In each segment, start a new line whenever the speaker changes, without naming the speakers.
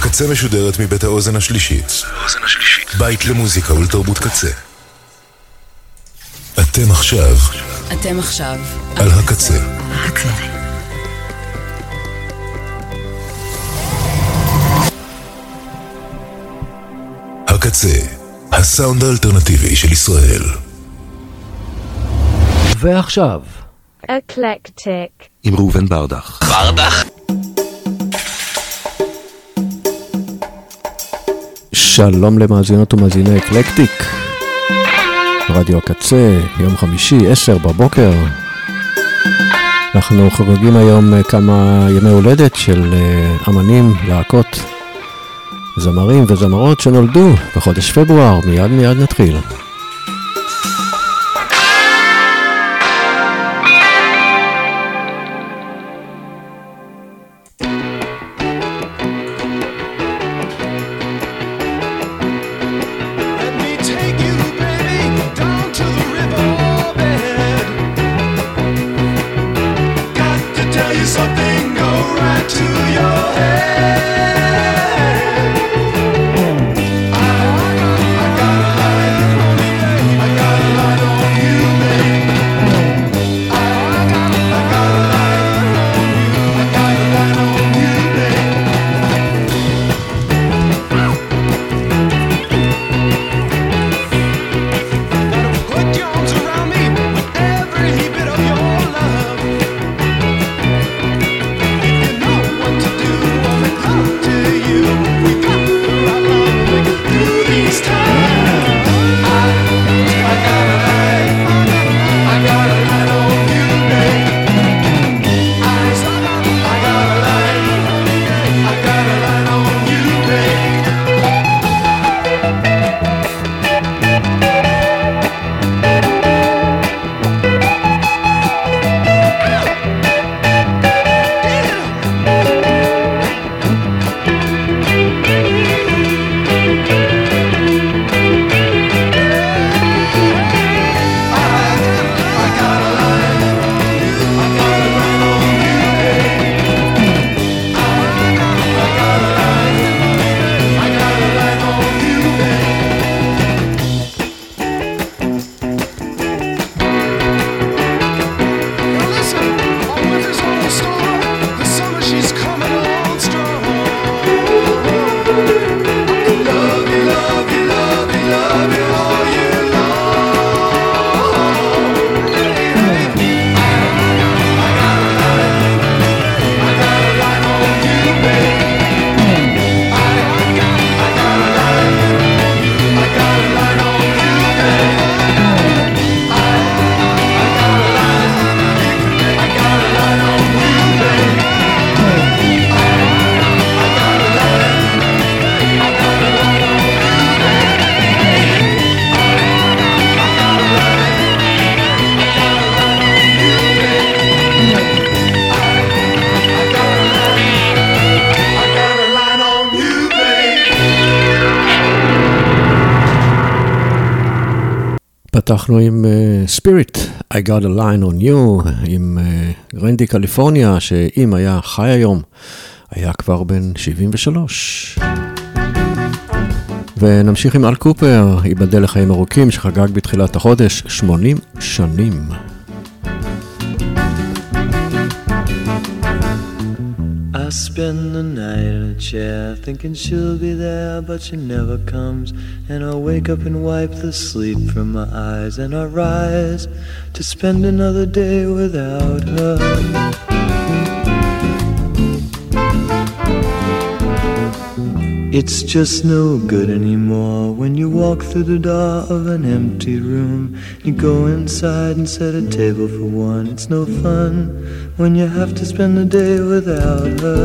הקצה משודרת מבית האוזן השלישית. בית למוזיקה ולתרבות קצה. אתם עכשיו על הקצה. הקצה, הסאונד האלטרנטיבי של ישראל.
ועכשיו
אקלקטיק
עם ראובן ברדך.
שלום למאזינות ומאזיני אקלקטיק, רדיו הקצה, יום חמישי, 10 בבוקר. אנחנו חוגגים היום כמה ימי הולדת של אמנים, להקות, זמרים וזמרות שנולדו בחודש פברואר. מיד נתחיל. פתחנו עם Spirit, I got a line on you, עם רנדי קליפורניה, שאם היה חי היום, היה כבר בן 73. ונמשיך עם אל קופר, ייבדל לחיים ארוכים, שחגג בתחילת החודש 80 שנים.
I spend the night in a chair thinking she'll be there, but she never comes. And I wake up and wipe the sleep from my eyes, and I rise to spend another day without her. It's just no good anymore when you walk through the door of an empty room. You go inside and set a table for one. It's no fun when you have to spend the day without her.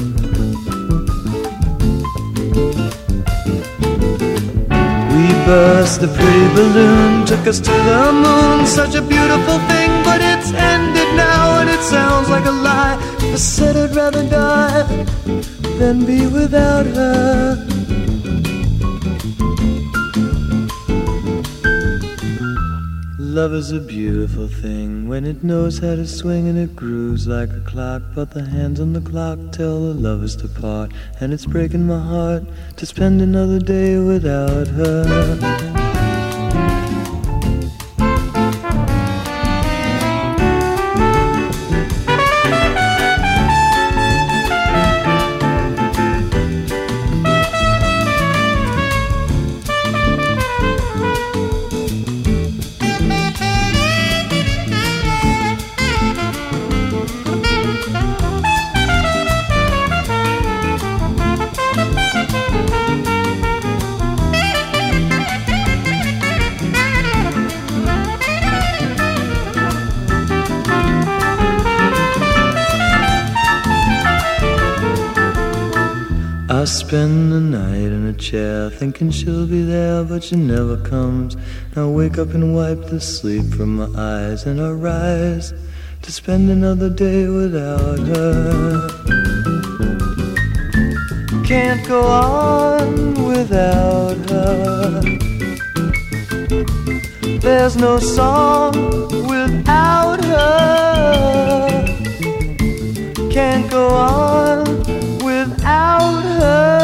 We burst the pretty balloon, took us to the moon. Such a beautiful thing, but it's ended now, and it sounds like a lie. I said I'd rather die than be without her. Love is a beautiful thing when it knows how to swing and it grooves like a clock. But the hands on the clock tell the lovers to part, and it's breaking my heart to spend another day without her. I spend the night in a chair thinking she'll be there, but she never comes. I wake up and wipe the sleep from my eyes, and I rise to spend another day without her. Can't go on without her. There's no song without her. Can't go on without her.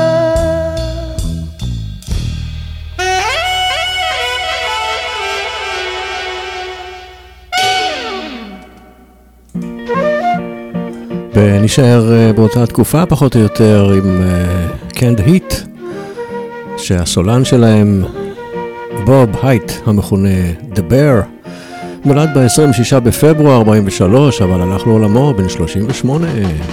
ונשאר באותה תקופה פחות או יותר עם קנד היט, שהסולן שלהם בוב הייט המכונה The Bear נולד ב-26 בפברואר 43, אבל הלך לעולמו בן 38.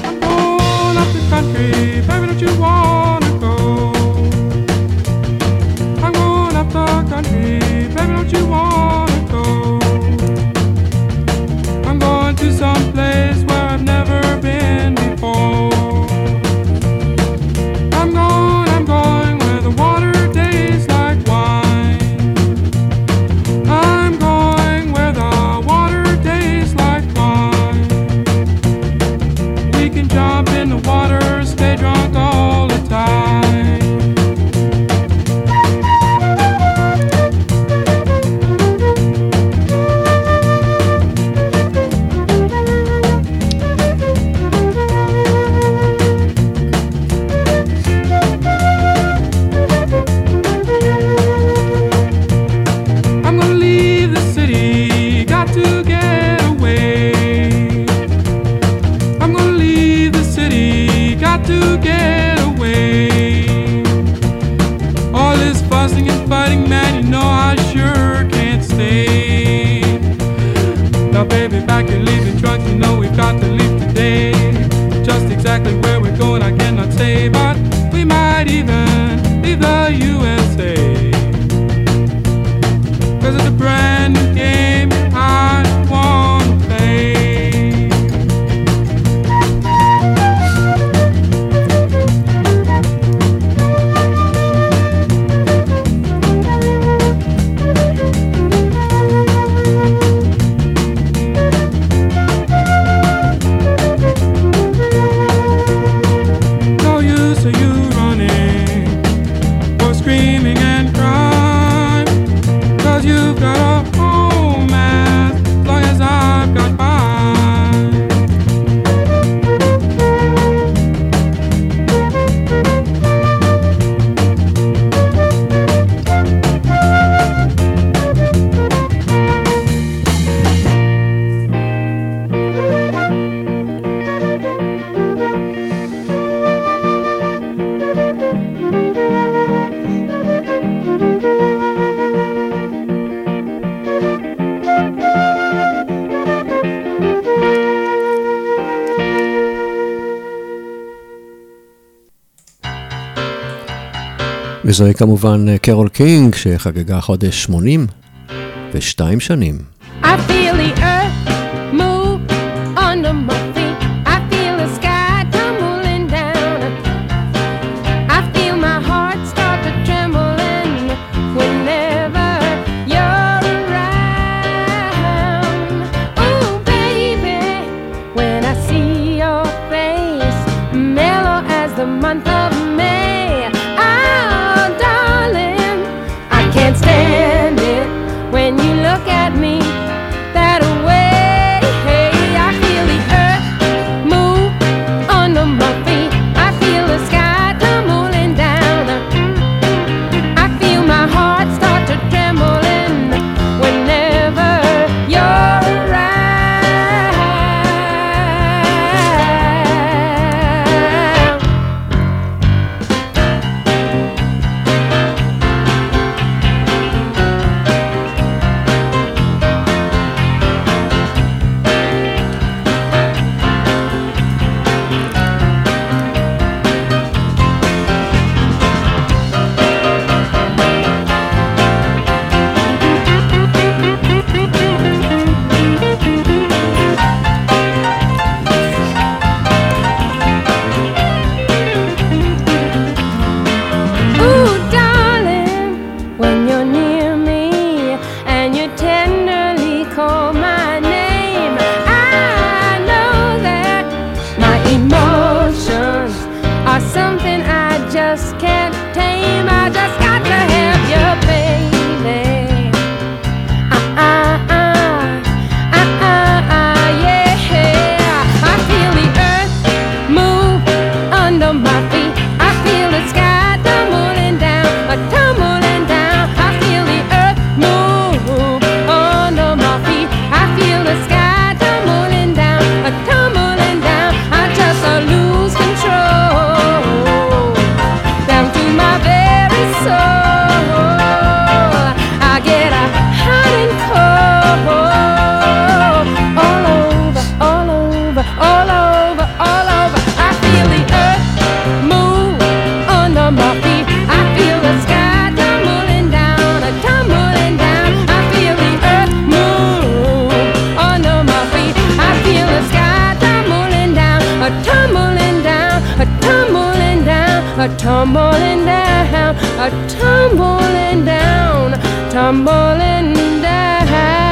וזוהי כמובן קרול קינג שחגגה חודש 82 שנים.
I feel the earth move under my feet. I feel the sky tumbling down. I feel my heart start to tremble whenever you're around. Oh baby, when I see your face, mellow as the month of May. Oh darling, I can't stand it when you look at me something I just can't tame. I just got to have you, baby. Yeah. I feel the earth move under my feet. I feel the sky tumbling down, tumbling down. I feel the earth move under my feet. I feel the sky tumbling down, tumbling down. I just lose control down to my very soul. I get hot and cold all over, all over, all over, all over. I feel the earth move under my feet. I feel the sky tumbling down, tumbling down. I feel the earth move under my feet. I feel the sky tumbling down, tumbling down, tumbling down, tumbling down, tumbling down, tumbling down.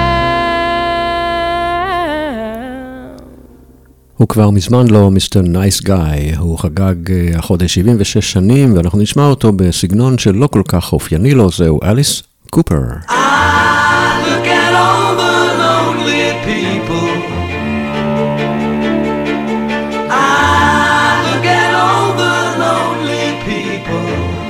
הוא כבר מזמן לא מיסטר נייס גאי, הוא חגג החודש 76 שנים, ואנחנו נשמע אותו בסגנון שלא כל כך אופייני לו, זהו אליס קופר.
I look at all the lonely people. I look at all the lonely people.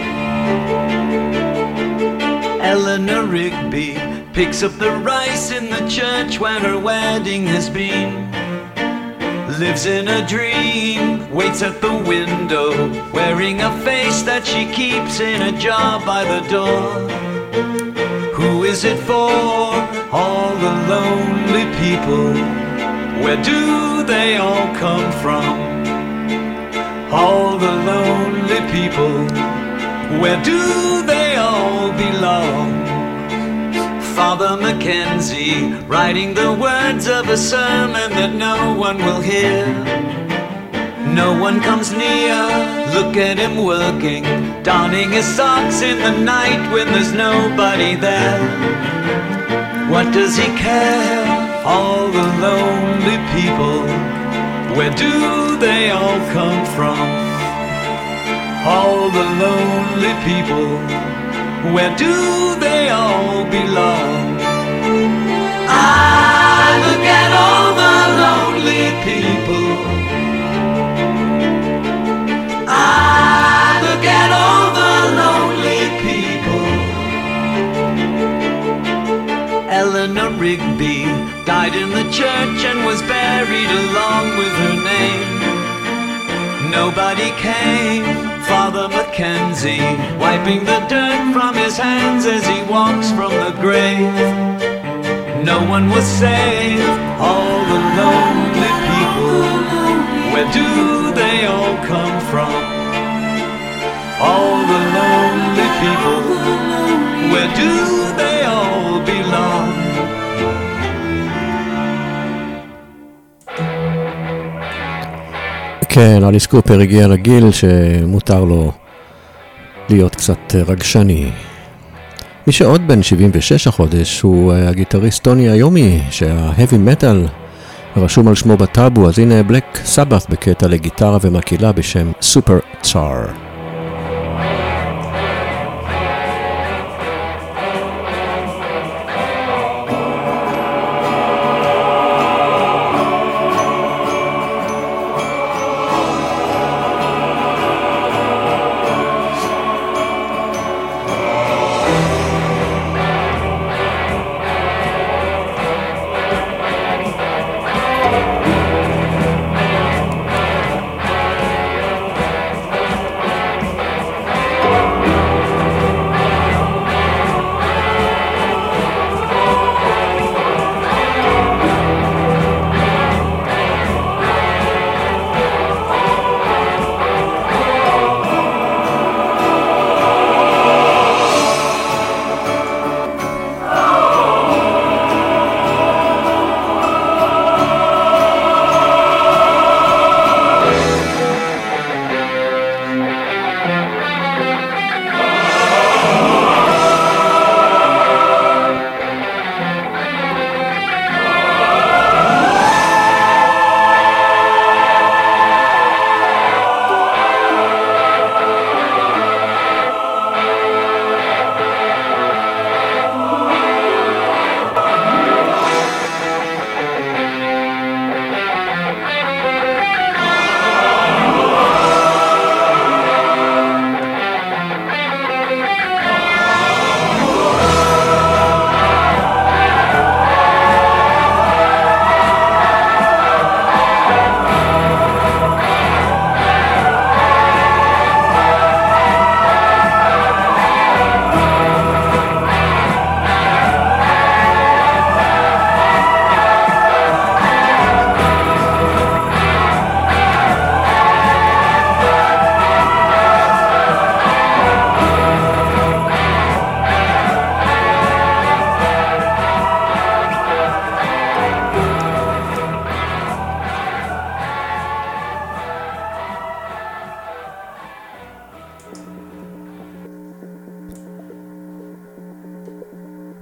Eleanor Rigby picks up the rice in the church where her wedding has been. Lives in a dream, waits at the window, wearing a face that she keeps in a jar by the door. Who is it for? All the lonely people. Where do they all come from? All the lonely people. Where do they all belong? Father Mackenzie, writing the words of a sermon that no one will hear. No one comes near, look at him working, donning his socks in the night when there's nobody there. What does he care? All the lonely people. Where do they all come from? All the lonely people. Where do they all belong? I look at all the lonely people. I look at all the lonely people. Eleanor Rigby died in the church and was buried along with her name. Nobody came. Father Mackenzie, wiping the dirt from his hands as he walks from the grave. No one was saved, all the lonely people. Where do they all come from? All the lonely people. Where do they all belong?
כן, אליס קופר הגיע לגיל שמותר לו להיות קצת רגשני. מי שעוד בן 76 החודש הוא הגיטריסט טוני איומי, שההאבי מטל רשום על שמו בטאבו, אז הנה בלק סבת בקטע לגיטרה ומקילה בשם סופר צ'אר.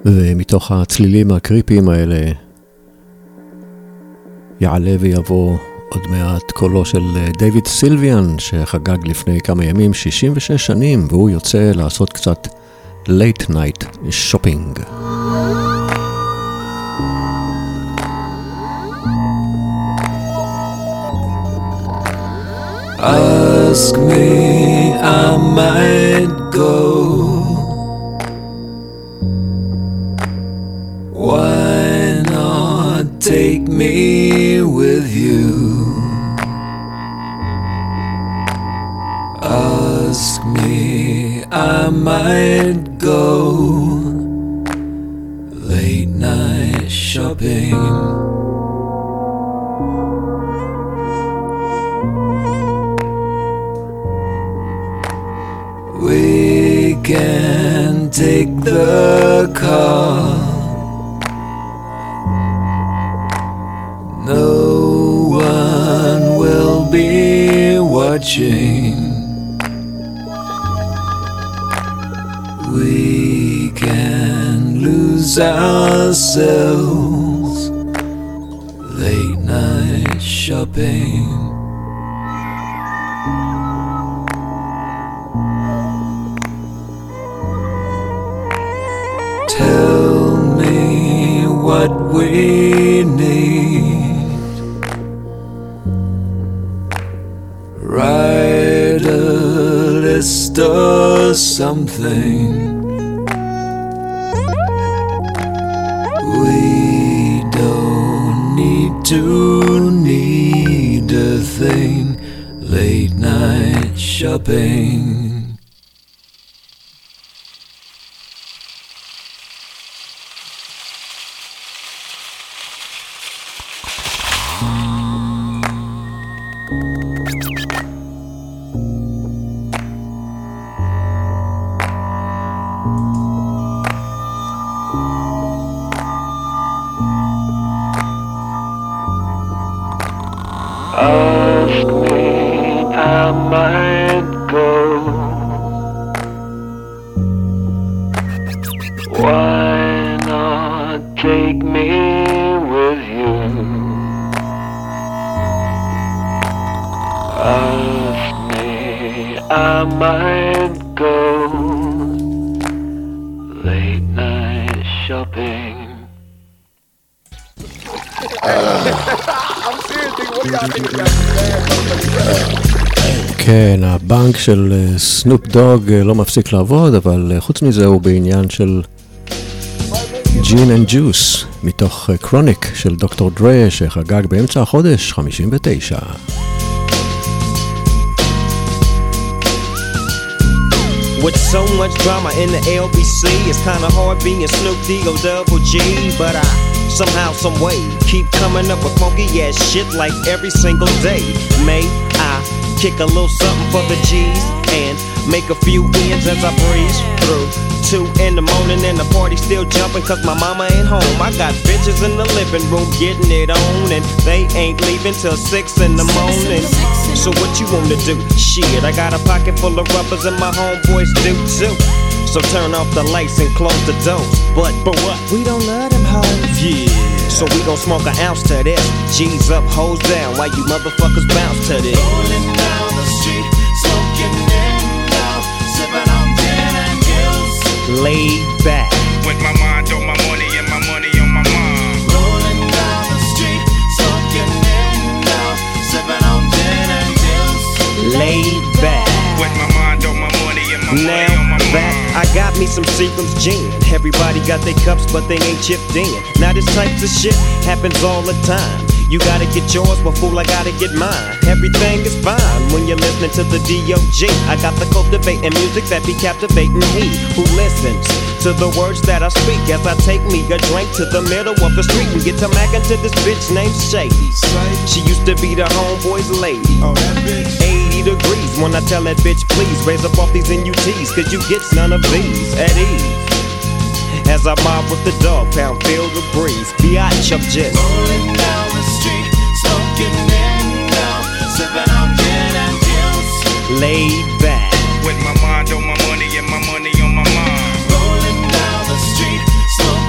ומתוך הצלילים הקריפיים האלה יעלה ויבוא עוד מעט קולו של דיוויד סילביאן, שחגג לפני כמה ימים 66 שנים, והוא יוצא לעשות קצת late night shopping.
Ask me, I might go. Why not take me with you? Ask me, I might go. Late night shopping. We can take the car. No one will be watching. We can lose ourselves. Late night shopping. Tell me what we need. Write a list or something. We don't need to need a thing. Late night shopping. Ask me, I might go. Why not take me with you? Ask me, I might go. Late night shopping.
כן, הבנק של סנופ דוג לא מפסיק לעבוד, אבל חוץ מזה הוא בעניין של ג'ין אנד ג'וס, מתוך קרוניק של דוקטור דרה, שחגג באמצע החודש 59.
With so much drama in the LBC, it's kinda hard being Snoop D-O-double-G, but I somehow, some way keep coming up with funky ass shit like every single day. May I kick a little something for the G's and make a few ends as I breeze through 2 in the morning and the party still jumping cause my mama ain't home. I got bitches in the living room getting it on and they ain't leaving till 6 in the morning. So what you wanna do? Shit, I got a pocket full of rubbers and my homeboys do too. So turn off the lights and close the doors. But what? We don't love them hoes. Yeah. So we gon' smoke an ounce to this. G's up, hoes down, while you motherfuckers bounce to this.
Rolling down the street, smoking in now, sipping on gin and juice.
Laid back.
With my mind on my money and my money on my mind.
Rolling down the street, smoking in now, sipping on gin and juice.
Laid back.
With my mind on my money and my money on my mind.
Back, I got me some Seagram's gin. Everybody got their cups, but they ain't chipped in. Now this type of shit happens all the time. You gotta get yours, but fool, I gotta get mine. Everything is fine when you're listening to the D.O.G. I got the cultivating music that be captivating he who listens to the words that I speak as I take me a drink to the middle of the street and get to mackin' to this bitch named Shady. She used to be the homeboy's lady. 80 degrees when I tell that bitch, please raise up off these NUTs, cause you get none of these at ease. As I mob with the dog pound, feel the breeze. Biatch, I'm just
rolling down the street, smoking in now, sipping on gin and juice.
Laid back.
With my mind on my money and my money on my mind.
Rolling down the street, smoking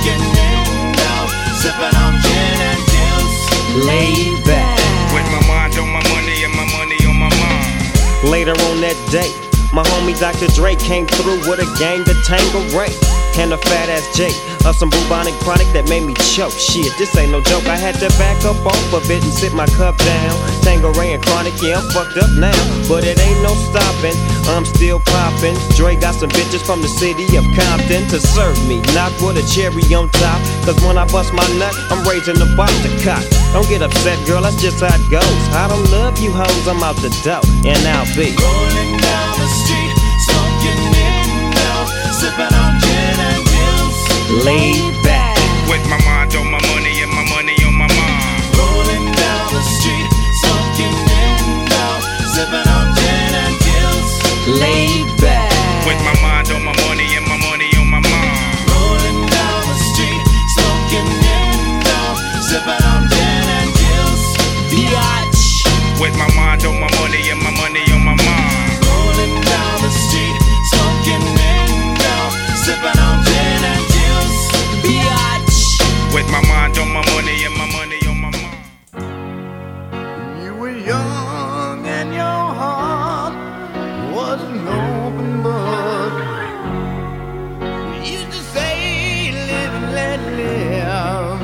day. My homie Dr. Dre came through with a gang to Tangeray and a fat ass J of some bubonic chronic that made me choke. Shit, this ain't no joke. I had to back up off of it and sit my cup down. Tangeray and chronic, yeah, I'm fucked up now, but it ain't no stopping. I'm still popping. Dre got some bitches from the city of Compton to serve me, not with a cherry on top. Cause when I bust my nut, I'm raising the bar to cock. Don't get upset, girl, that's just how it goes. I don't love you hoes, I'm out the dough, and I'll be
rolling down the street, smoking in now, sipping on gin and juice,
laid back
With my mind on my money and my money on my mind.
rolling down the street, smoking in now, sipping on gin and juice,
laid back
With my mind on my money and my money on my mind.
rolling down the street, smoking in now, sipping on gin and juice, biatch.
With my mind on my money and my money on my mind.
Rolling down the street, smoking in now, sipping on gin and juice, biatch.
With my mind on my money and my money on my mind.
You were young and your heart was an open book. You used to say, live and let live.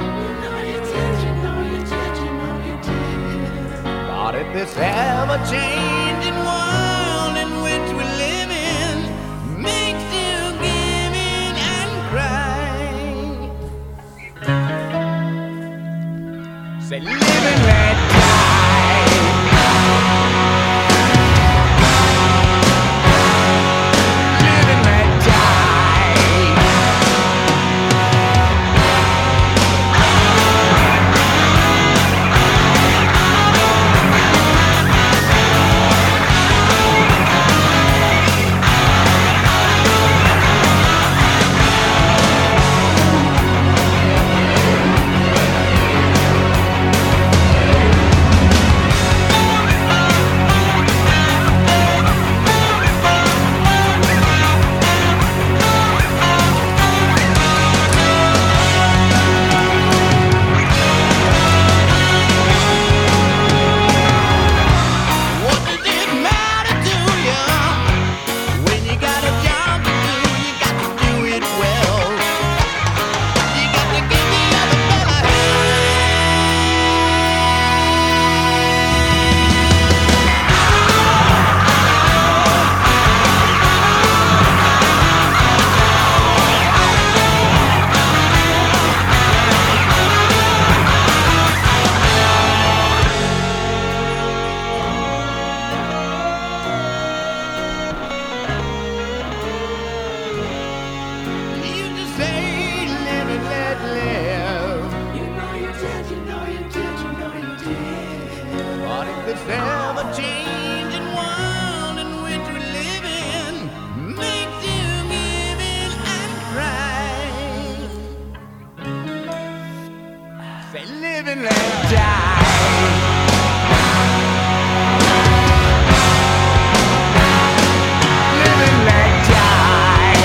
But if this ever-changing world in which we live in makes you give in and cry, say live and let die. Live and let die. What does it matter to you when you got a job to do? You got to do it well. You got to give the other fella you just say live and let live. You know you did, you know you did, you know you did. But if this ever-changing world in which we live in makes you give in and cry, say live and let die. Live and let die.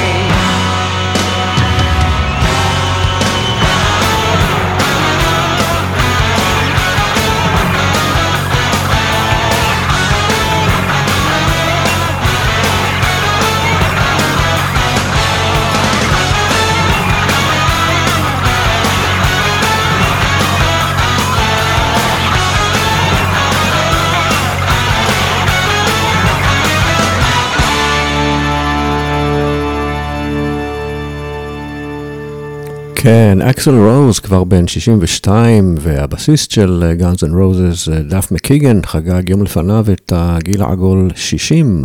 כן, אקסל רוז כבר בן 62, והבסיסט של גאנס אנד רוזס, דף מקיגן, חגג יום לפניו את הגיל העגול 60.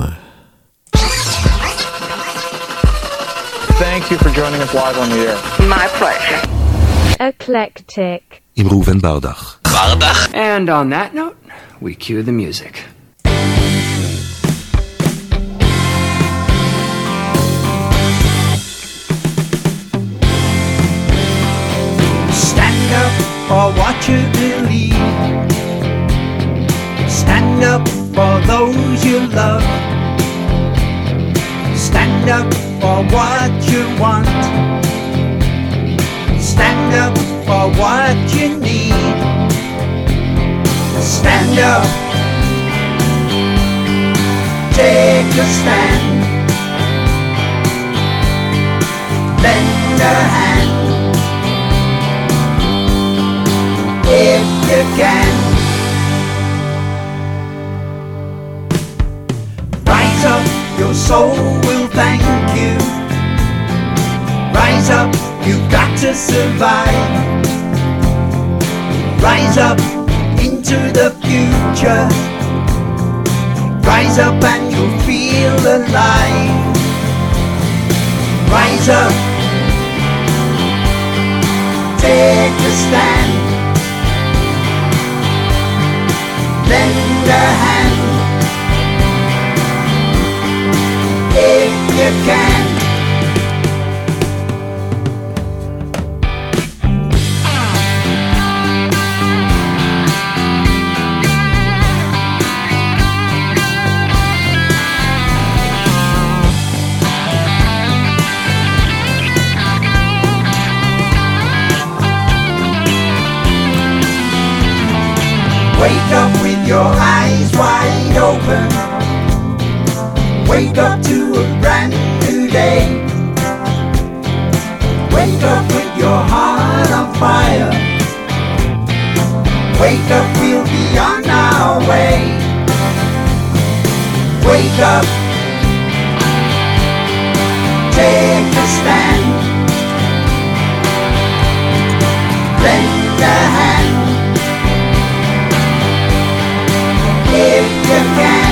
Thank you for joining us live on the air.
My pleasure. Eclectic.
עם ראובן ברדך.
And on that note, we cue the music.
Stand up for what you believe. Stand up for those you love. Stand up for what you want. Stand up for what you need. Stand up. Take
Take a stand, lend a hand if you can. Rise up, your soul will thank you. Rise up, you've got to survive. Rise up into the future. Rise up and you'll feel alive. Rise up, take a stand, lend a hand if you can. Wake up with your eyes wide open. Wake up to a brand new day. Wake up with your heart on fire. Wake up, we'll be on our way. Wake up, take a stand, lend a hand if you can.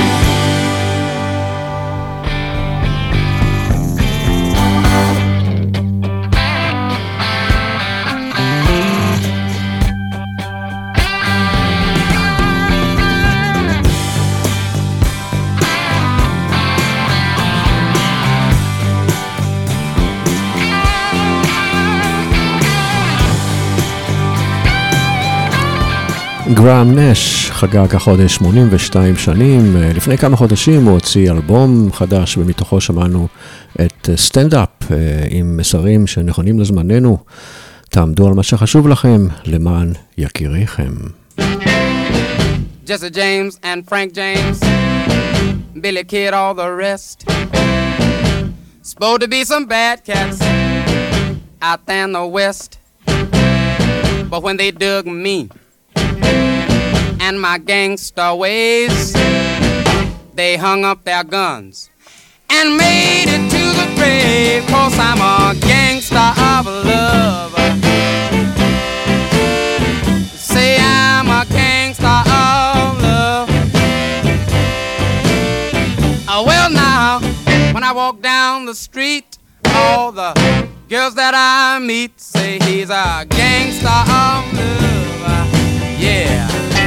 גראם נש חגג החודש 82 שנים. לפני כמה חודשים הוא הוציא אלבום חדש, ומתוכו שמענו את סטנד-אפ עם מסרים שנכונים לזמננו. תעמדו על מה שחשוב לכם למען יקיריכם.
Jesse James and Frank James, Billy Kid, all the rest. Supposed to be some bad cats out there in the West, but when they dug me and my gangster ways, they hung up their guns and made it to the grave. 'Cause I'm a gangster of love. Say I'm a gangster of love. Well now, when I walk down the street, all the girls that I meet say he's a gangster of love. Yeah.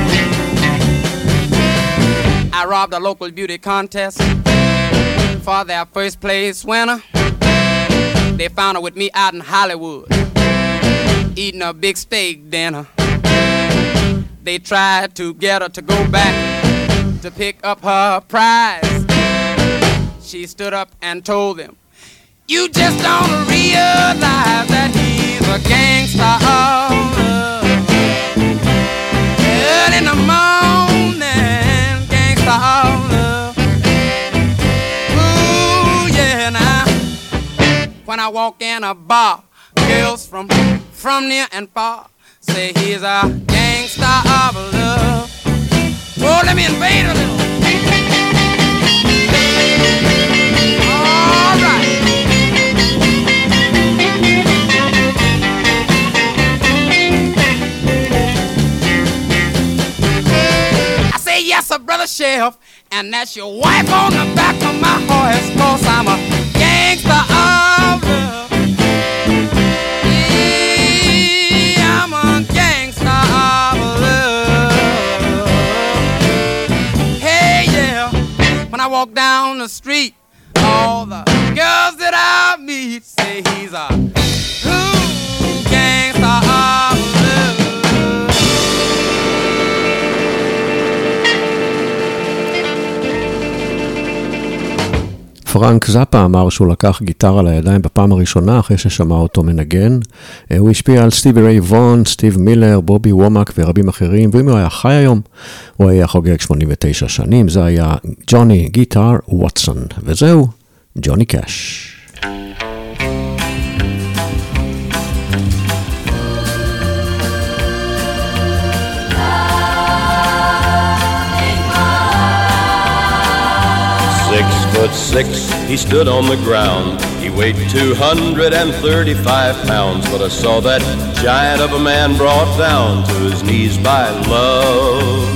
I robbed a local beauty contest for their first place winner. They found her with me out in Hollywood, eating a big steak dinner. They tried to get her to go back to pick up her prize. She stood up and told them, "You just don't realize that he's a gangster of love." Early in the morning, gangster of love. Ooh, yeah, now. When I walk in a bar, girls from near and far say he's a gangster of love. Oh, let me invade a little. All right. I say yes, sir, brother sheriff, and that's your wife on the back of my horse. 'Cause I'm a gangster of love. Yeah, I'm a gangster of love. Hey, yeah, when I walk down the street, all the girls that I meet say he's a gangster of love.
פרנק זאפה אמר שהוא לקח גיטרה לידיים בפעם הראשונה אחרי ששמע אותו מנגן. הוא השפיע על סטיבי ריי וון, סטיב מילר, בובי וומק ורבים אחרים, ואם הוא היה חי היום, הוא היה חוגג 89 שנים. זה היה ג'וני גיטר ווטסון, וזהו ג'וני קאש.
6'6", he stood on the ground. He weighed 235 pounds, but I saw that giant of a man brought down to his knees by love.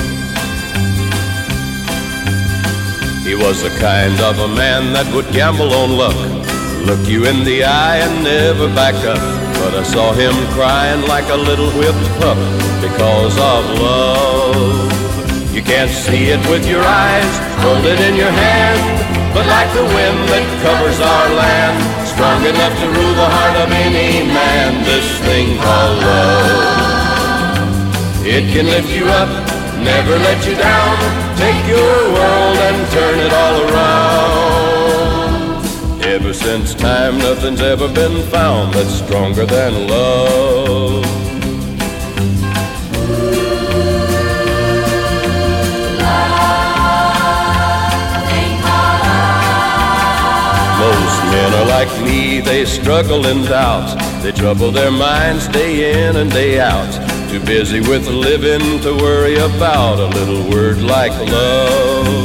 He was the kind of a man that would gamble on luck, look you in the eye and never back up. But I saw him crying like a little whipped pup because of love. You can't see it with your eyes, hold it in your hand, but like the wind that covers our land, strong enough to rule the heart of any man, this thing called love. It can lift you up, never let you down, take your world and turn it all around. Ever since time, nothing's ever been found that's stronger than love. Most men are like me, they struggle and doubt. They trouble their minds day in and day out. Too busy with living to worry about a little word like love.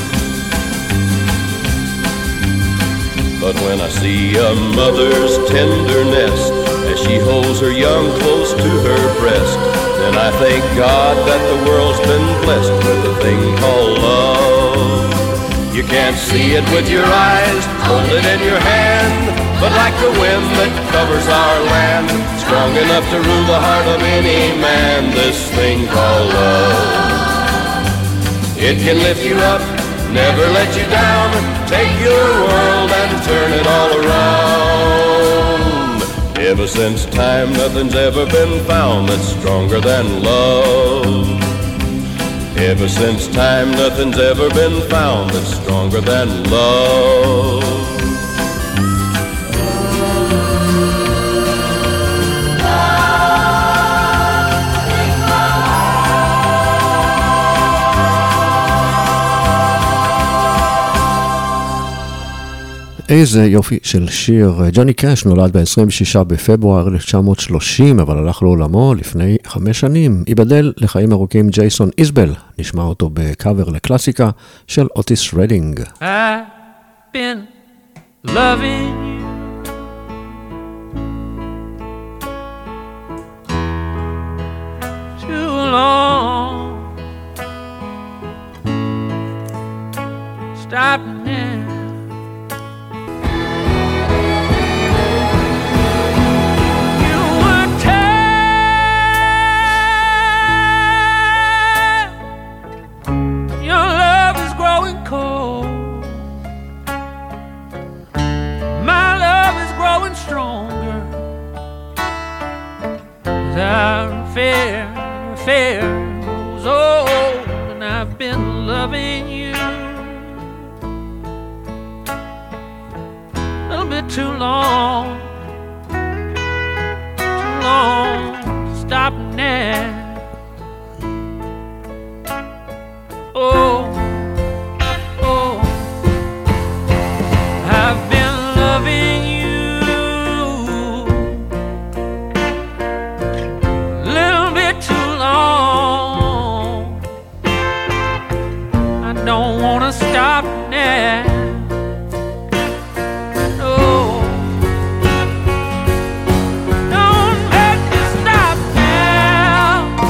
But when I see a mother's tenderness as she holds her young close to her breast, then I thank God that the world's been blessed with a thing called love. You can't see it with your eyes, hold it in your hand, but like the wind that covers our land, strong enough to rule the heart of any man, this thing called love. It can lift you up, never let you down, take your world and turn it all around. Ever since time, nothing's ever been found that's stronger than love. Ever since time, nothing's ever been found that's stronger than love.
איזה יופי של שיר. ג'וני קאש נולד ב-26 בפברואר 1930, אבל הלך לעולמו לפני 5 שנים. ייבדל לחיים ארוכים ג'ייסון איזבל. נשמע אותו בקאבר לקלאסיקה של אוטיס רדינג.
I've been loving you too long. Stop now. Our affair goes old, and I've been loving you a little bit too long to stop now. Oh, I've been loving you don't wanna stop now. No, don't make me stop now.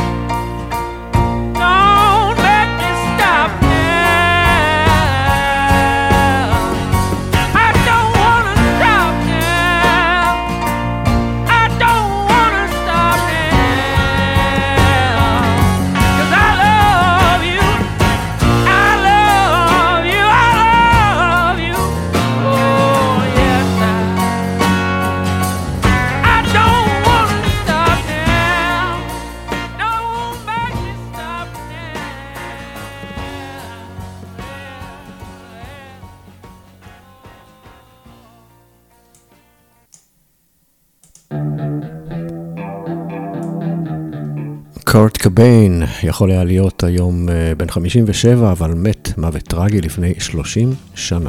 קורט קוביין יכול היה להיות היום בן 57, אבל מת מוות טרגי לפני 30 שנה.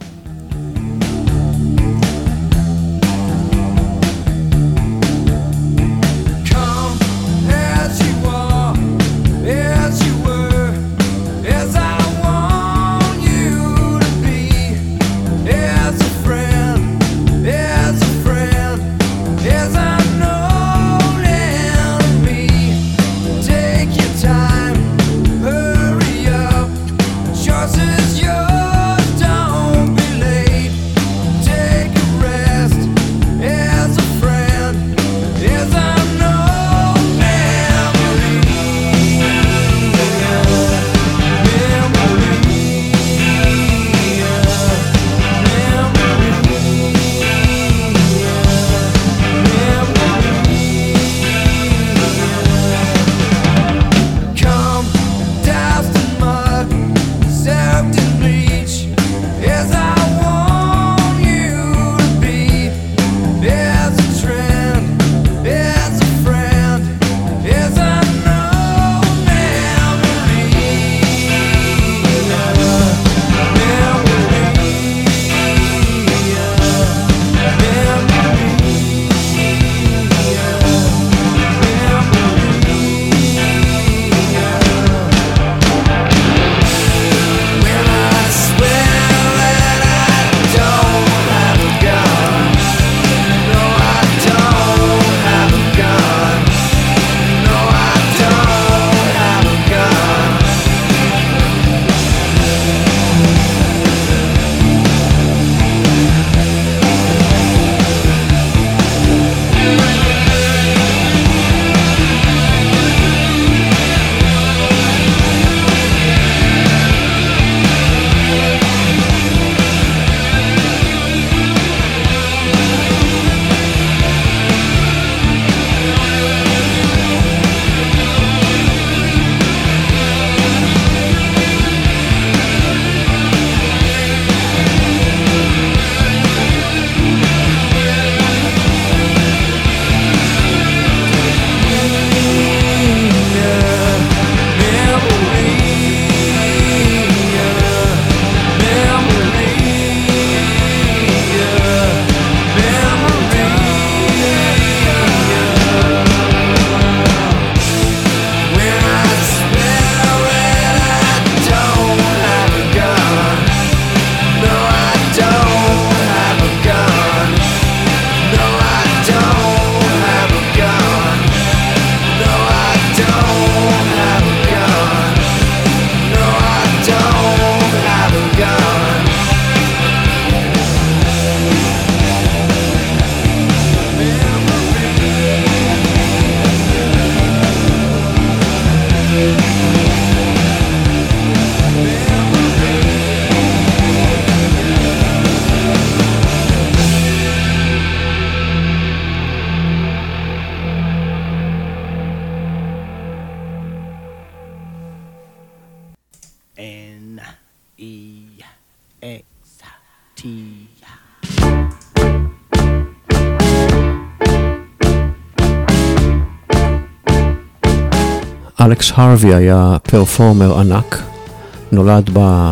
אלכס הרווי היה פרפורמר ענק, נולד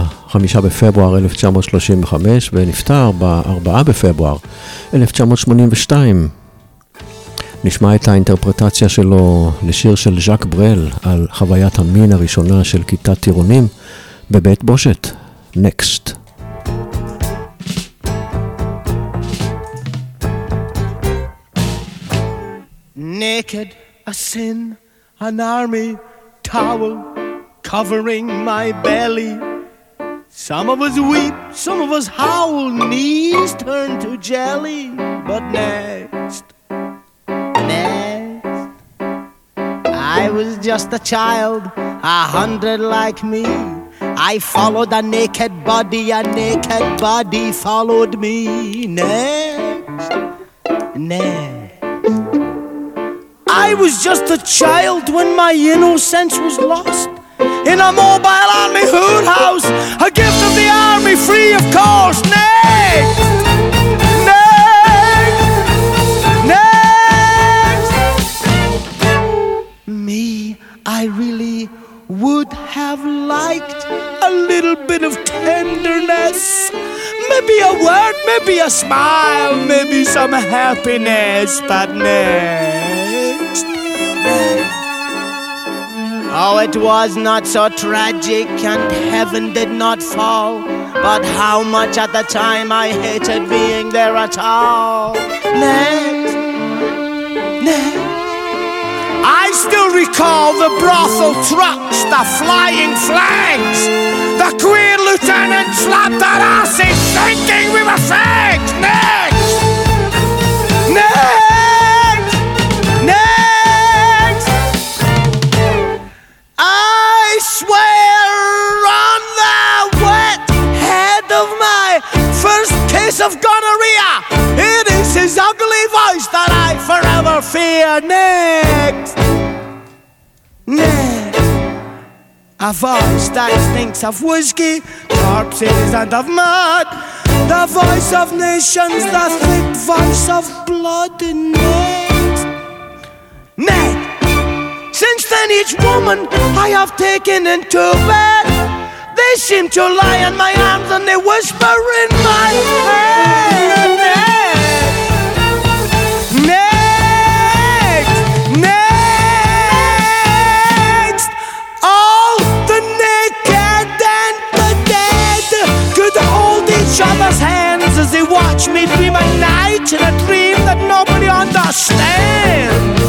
ב-5 בפברואר 1935 ונפטר ב-4 בפברואר 1982. נשמע את האינטרפרטציה שלו לשיר של ז'אק ברל על חוויית המין הראשונה של כיתת טירונים בבית בושת, Next.
Naked, a sin, an army towel covering my belly. Some of us weep, some of us howl, knees turn to jelly. But next, I was just a child, 100 like me. I followed a naked body followed me. Next. I was just a child when my innocence was lost in a mobile army hood house, a gift of the army, free of cost. Next. Me, maybe a word, maybe a smile, maybe some happiness, but next. Oh, it was not so tragic and heaven did not fall, but how much at the time I hated being there at all. Next. I still recall the brothel trucks, the flying flags, the queer lieutenant slapped our asses thinking we were fags. Next! I swear on the wet head of my first case of gonorrhea, it is his ugly voice that I forever fear. Next, a voice that stinks of whiskey, corpses and of mud, the voice of nations, the thick voice of blood. And next, since then each woman I have taken into bed, they seem to lie in my arms and they whisper in my head. Next, all the naked and the dead could hold each other's hands as they watch me dream at night in a dream that nobody understands.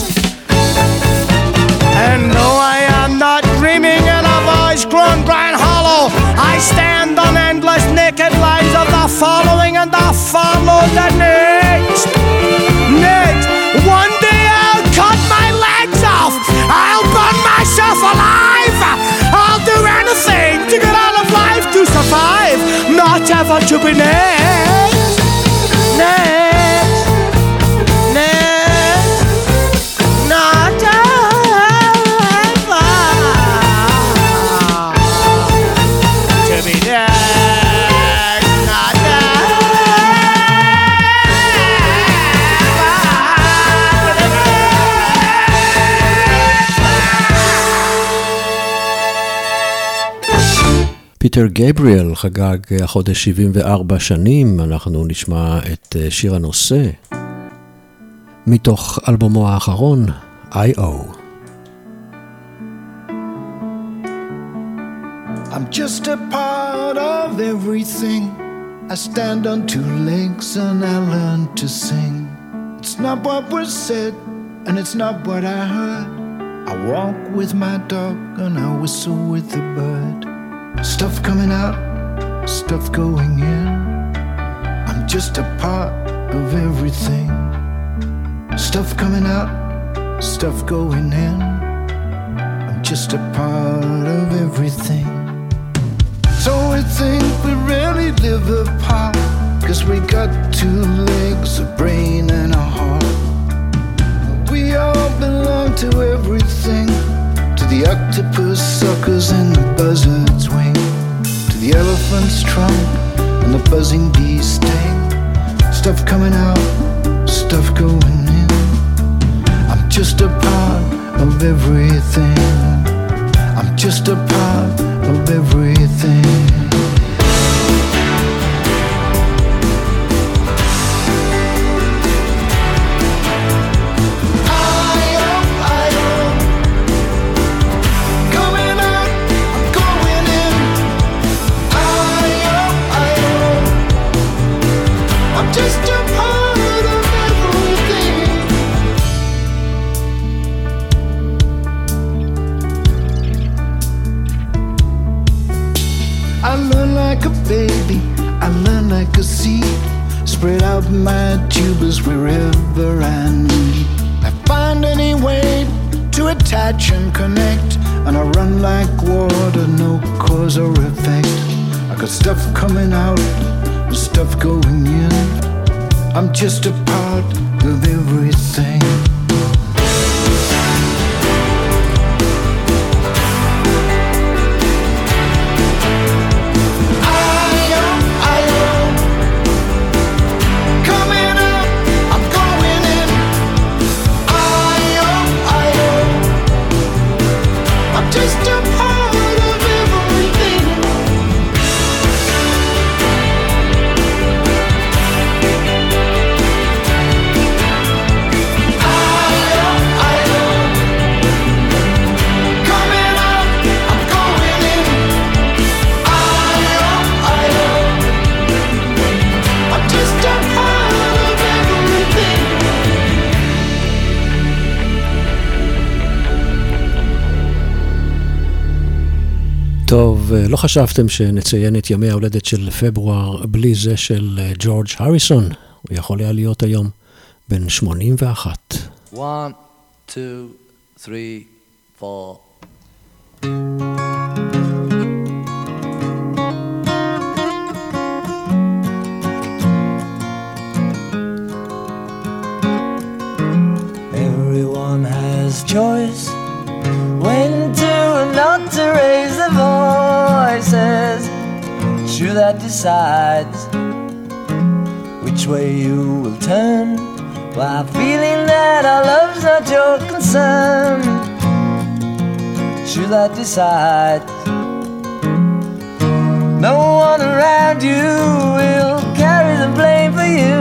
And though I am not dreaming in a voice grown dry and hollow, I stand on endless naked lines of the following and the follow the next. One day I'll cut my legs off, I'll burn myself alive, I'll do anything to get out of life to survive, not ever to be next. Not
פיטר גבריאל חגג החודש 74 שנים. אנחנו נשמע את שיר הנושא מתוך אלבומו האחרון, I.O.
I'm just a part of everything. I stand on two legs and I learn to sing. It's not what was said and it's not what I heard. I walk with my dog and I whistle with the bird. Stuff coming out, stuff going in. I'm just a part of everything. Stuff coming out, stuff going in. I'm just a part of everything. So we think we really live apart, 'cause we got two legs, a brain and a heart. We all belong to everything, to the octopus suckers and the buzzard's wing, to the elephant's trunk and the buzzing bee's sting. Stuff coming out, stuff going in. I'm just a part of everything. I'm just a part of everything. Baby, I learn like a seed, spread out my tubers wherever I need. I find any way to attach and connect, and I run like water, no cause or effect. I got stuff coming out, stuff going in. I'm just a part of everything.
טוב, לא חשבתם שנציין את ימי ההולדת של פברואר בלי זה של ג'ורג' הריסון? הוא יכול היה להיות היום בן 81.
1, 2, 3, 4.
Everyone has choice when to and not to raise their voices. It's you that decides which way you will turn, while feeling that our love's not your concern. It's you that decides. No one around you will carry the blame for you.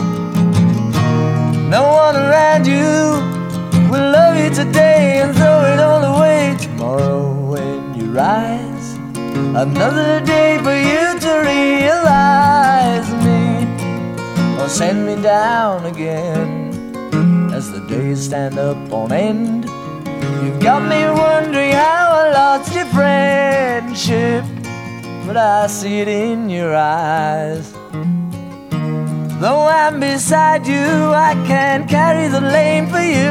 No one around you will love you today and throw it all away tomorrow when you rise. Another day for you to realize me, or send me down again as the days stand up on end. You've got me wondering how I lost your friendship, but I see it in your eyes. Though I'm beside you, I can't carry the blame for you.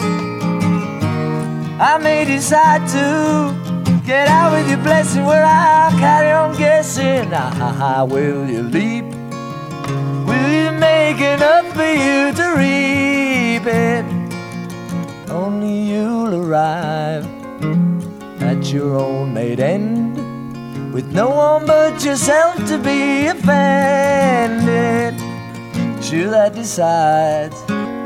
I may decide to get out with your blessing, where I'll carry on guessing. Will you leap? Will you make enough for you to reap it? Only you'll arrive at your own made end, with no one but yourself to be offended. It's you that decides.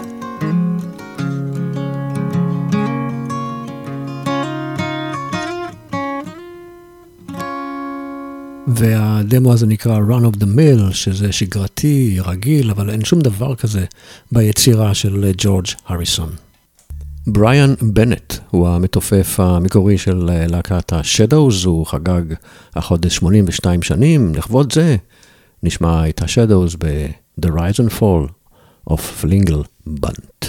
והדמו הזה נקרא Run of the Mill, שזה שגרתי, רגיל, אבל אין שום דבר כזה ביצירה של ג'ורג' הריסון. בריאן בנט הוא המתופף המקורי של להקת ה-Shadows, הוא חגג החודש 82 שנים, לכבוד זה נשמע את ה-Shadows ב-The Rise and Fall of Flingle Bunt.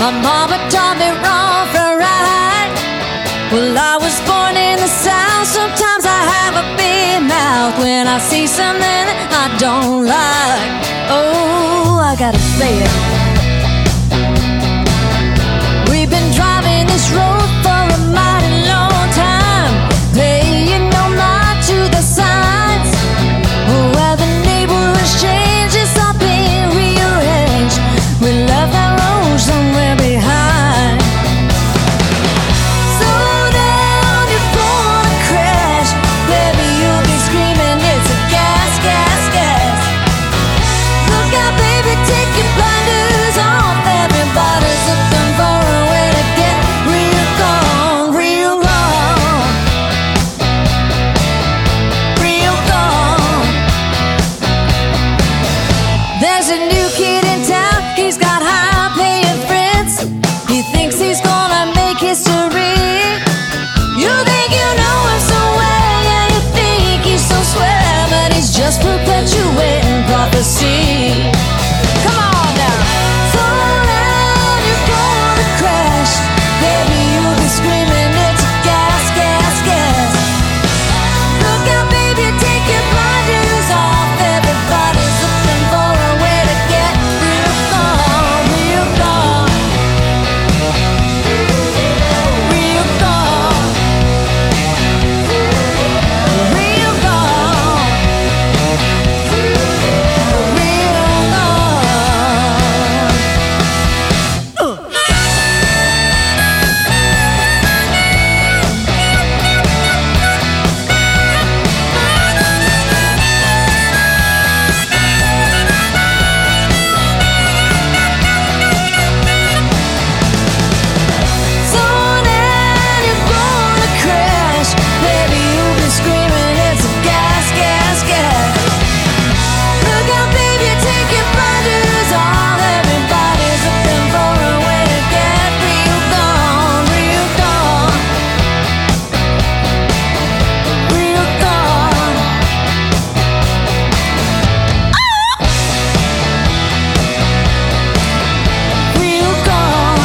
My mama taught me wrong from right. Well, I was born in the South. Sometimes I have a big mouth when I see something that I don't like. Oh, I gotta say it. We've been driving this road for a mighty long time, paying no mind to the signs. Where the neighborhood's changed, it's all been rearranged. We left that road somewhere behind. Slow down, you're gonna crash. Baby, you'll be screaming, it's a gas, gas, gas. Look out, baby, take your blinders off. Everybody's looking for a way to get real gone, real gone, real gone. There's a new kid in town, he's got high-paying friends. He thinks he's gonna make history. You think you know him so well, yeah, you think he's so swell, but he's just perpetuating prophecy. Come on now. Slow down, you're gonna crash. Baby, you'll be screaming, it's a gas, gas, gas. Look out, baby, take your blinders off. Everybody's looking for a way to get real gone, real gone, real gone, real gone, real gone. Slow down, you're gonna crash. Baby, you'll be screaming, it's a gas, gas, gas. Look out, baby, take your blinders off. Everybody's looking for a way to get real gone, real gone, real gone. Real gone.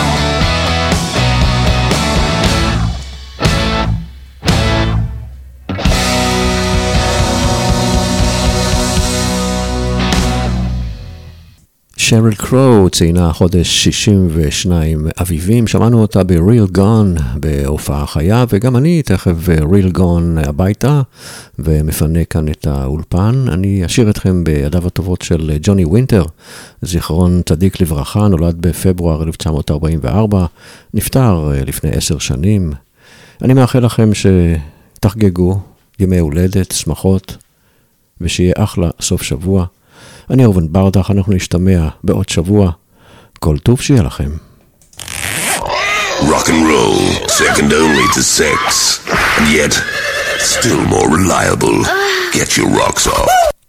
שריל קרו ציינה חודש 62 אביבים, שמענו אותה ב-Real Gone בהופעה חיה, וגם אני תכף Real Gone הביתה ומפנה כאן את האולפן. אני אשאיר אתכם בידיו הטובות של ג'וני ווינטר, זיכרון צדיק לברכה, נולד בפברואר 1944, נפטר לפני 10 שנים. אני מאחל לכם שתחגגו ימי הולדת, שמחות, ושיהיה אחלה סוף שבוע. אני אורבן ברדך, אנחנו נשתמע בעוד שבוע. כל טוב שיהיה לכם.
Rock and roll, second only to sex, and yet still more reliable. Get your rocks off.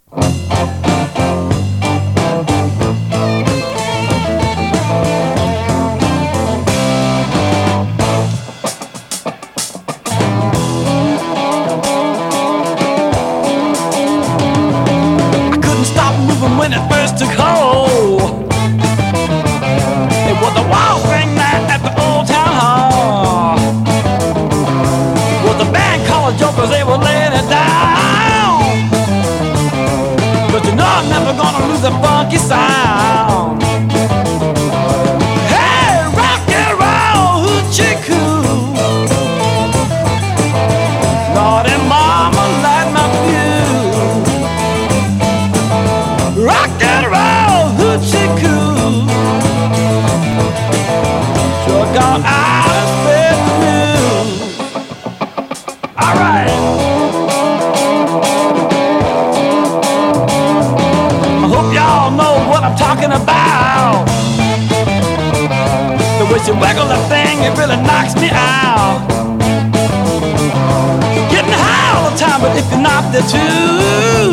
When it first took hold, it was the wild thing night at the old town hall. With the band called Jokers, they were laying it down. But you know I'm never gonna lose the funky sound. Hey, rock and roll, hoochie coo. Lord and Mama light my fuse. Rock and roll, hoochie coo. Sure got out of bed news. All right. I hope y'all know what I'm talking about. The way she wiggle the thing, it really knocks me out. Getting high all the time, but if you're not there too,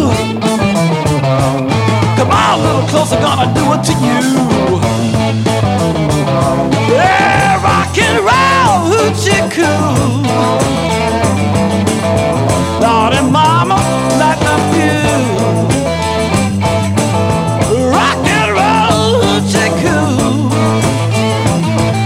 come on, a little closer, gonna do it to you. Yeah, rock and roll, hoochie coo. Lord and Mama, light my fuse. Rock and roll, hoochie coo.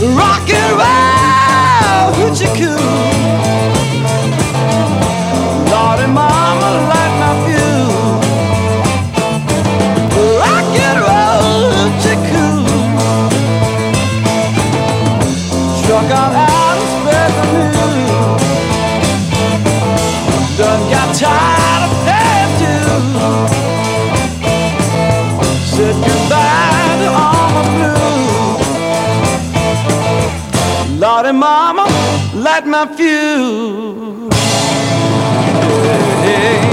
rock and roll, hoochie coo. Lordy mama, light my fuse. Rock and roll, hoochie coo. Struck out and spread the news. Done got tired of paying dues. Said goodbye to all my blues. Lordy mama, light my fuse. Hey.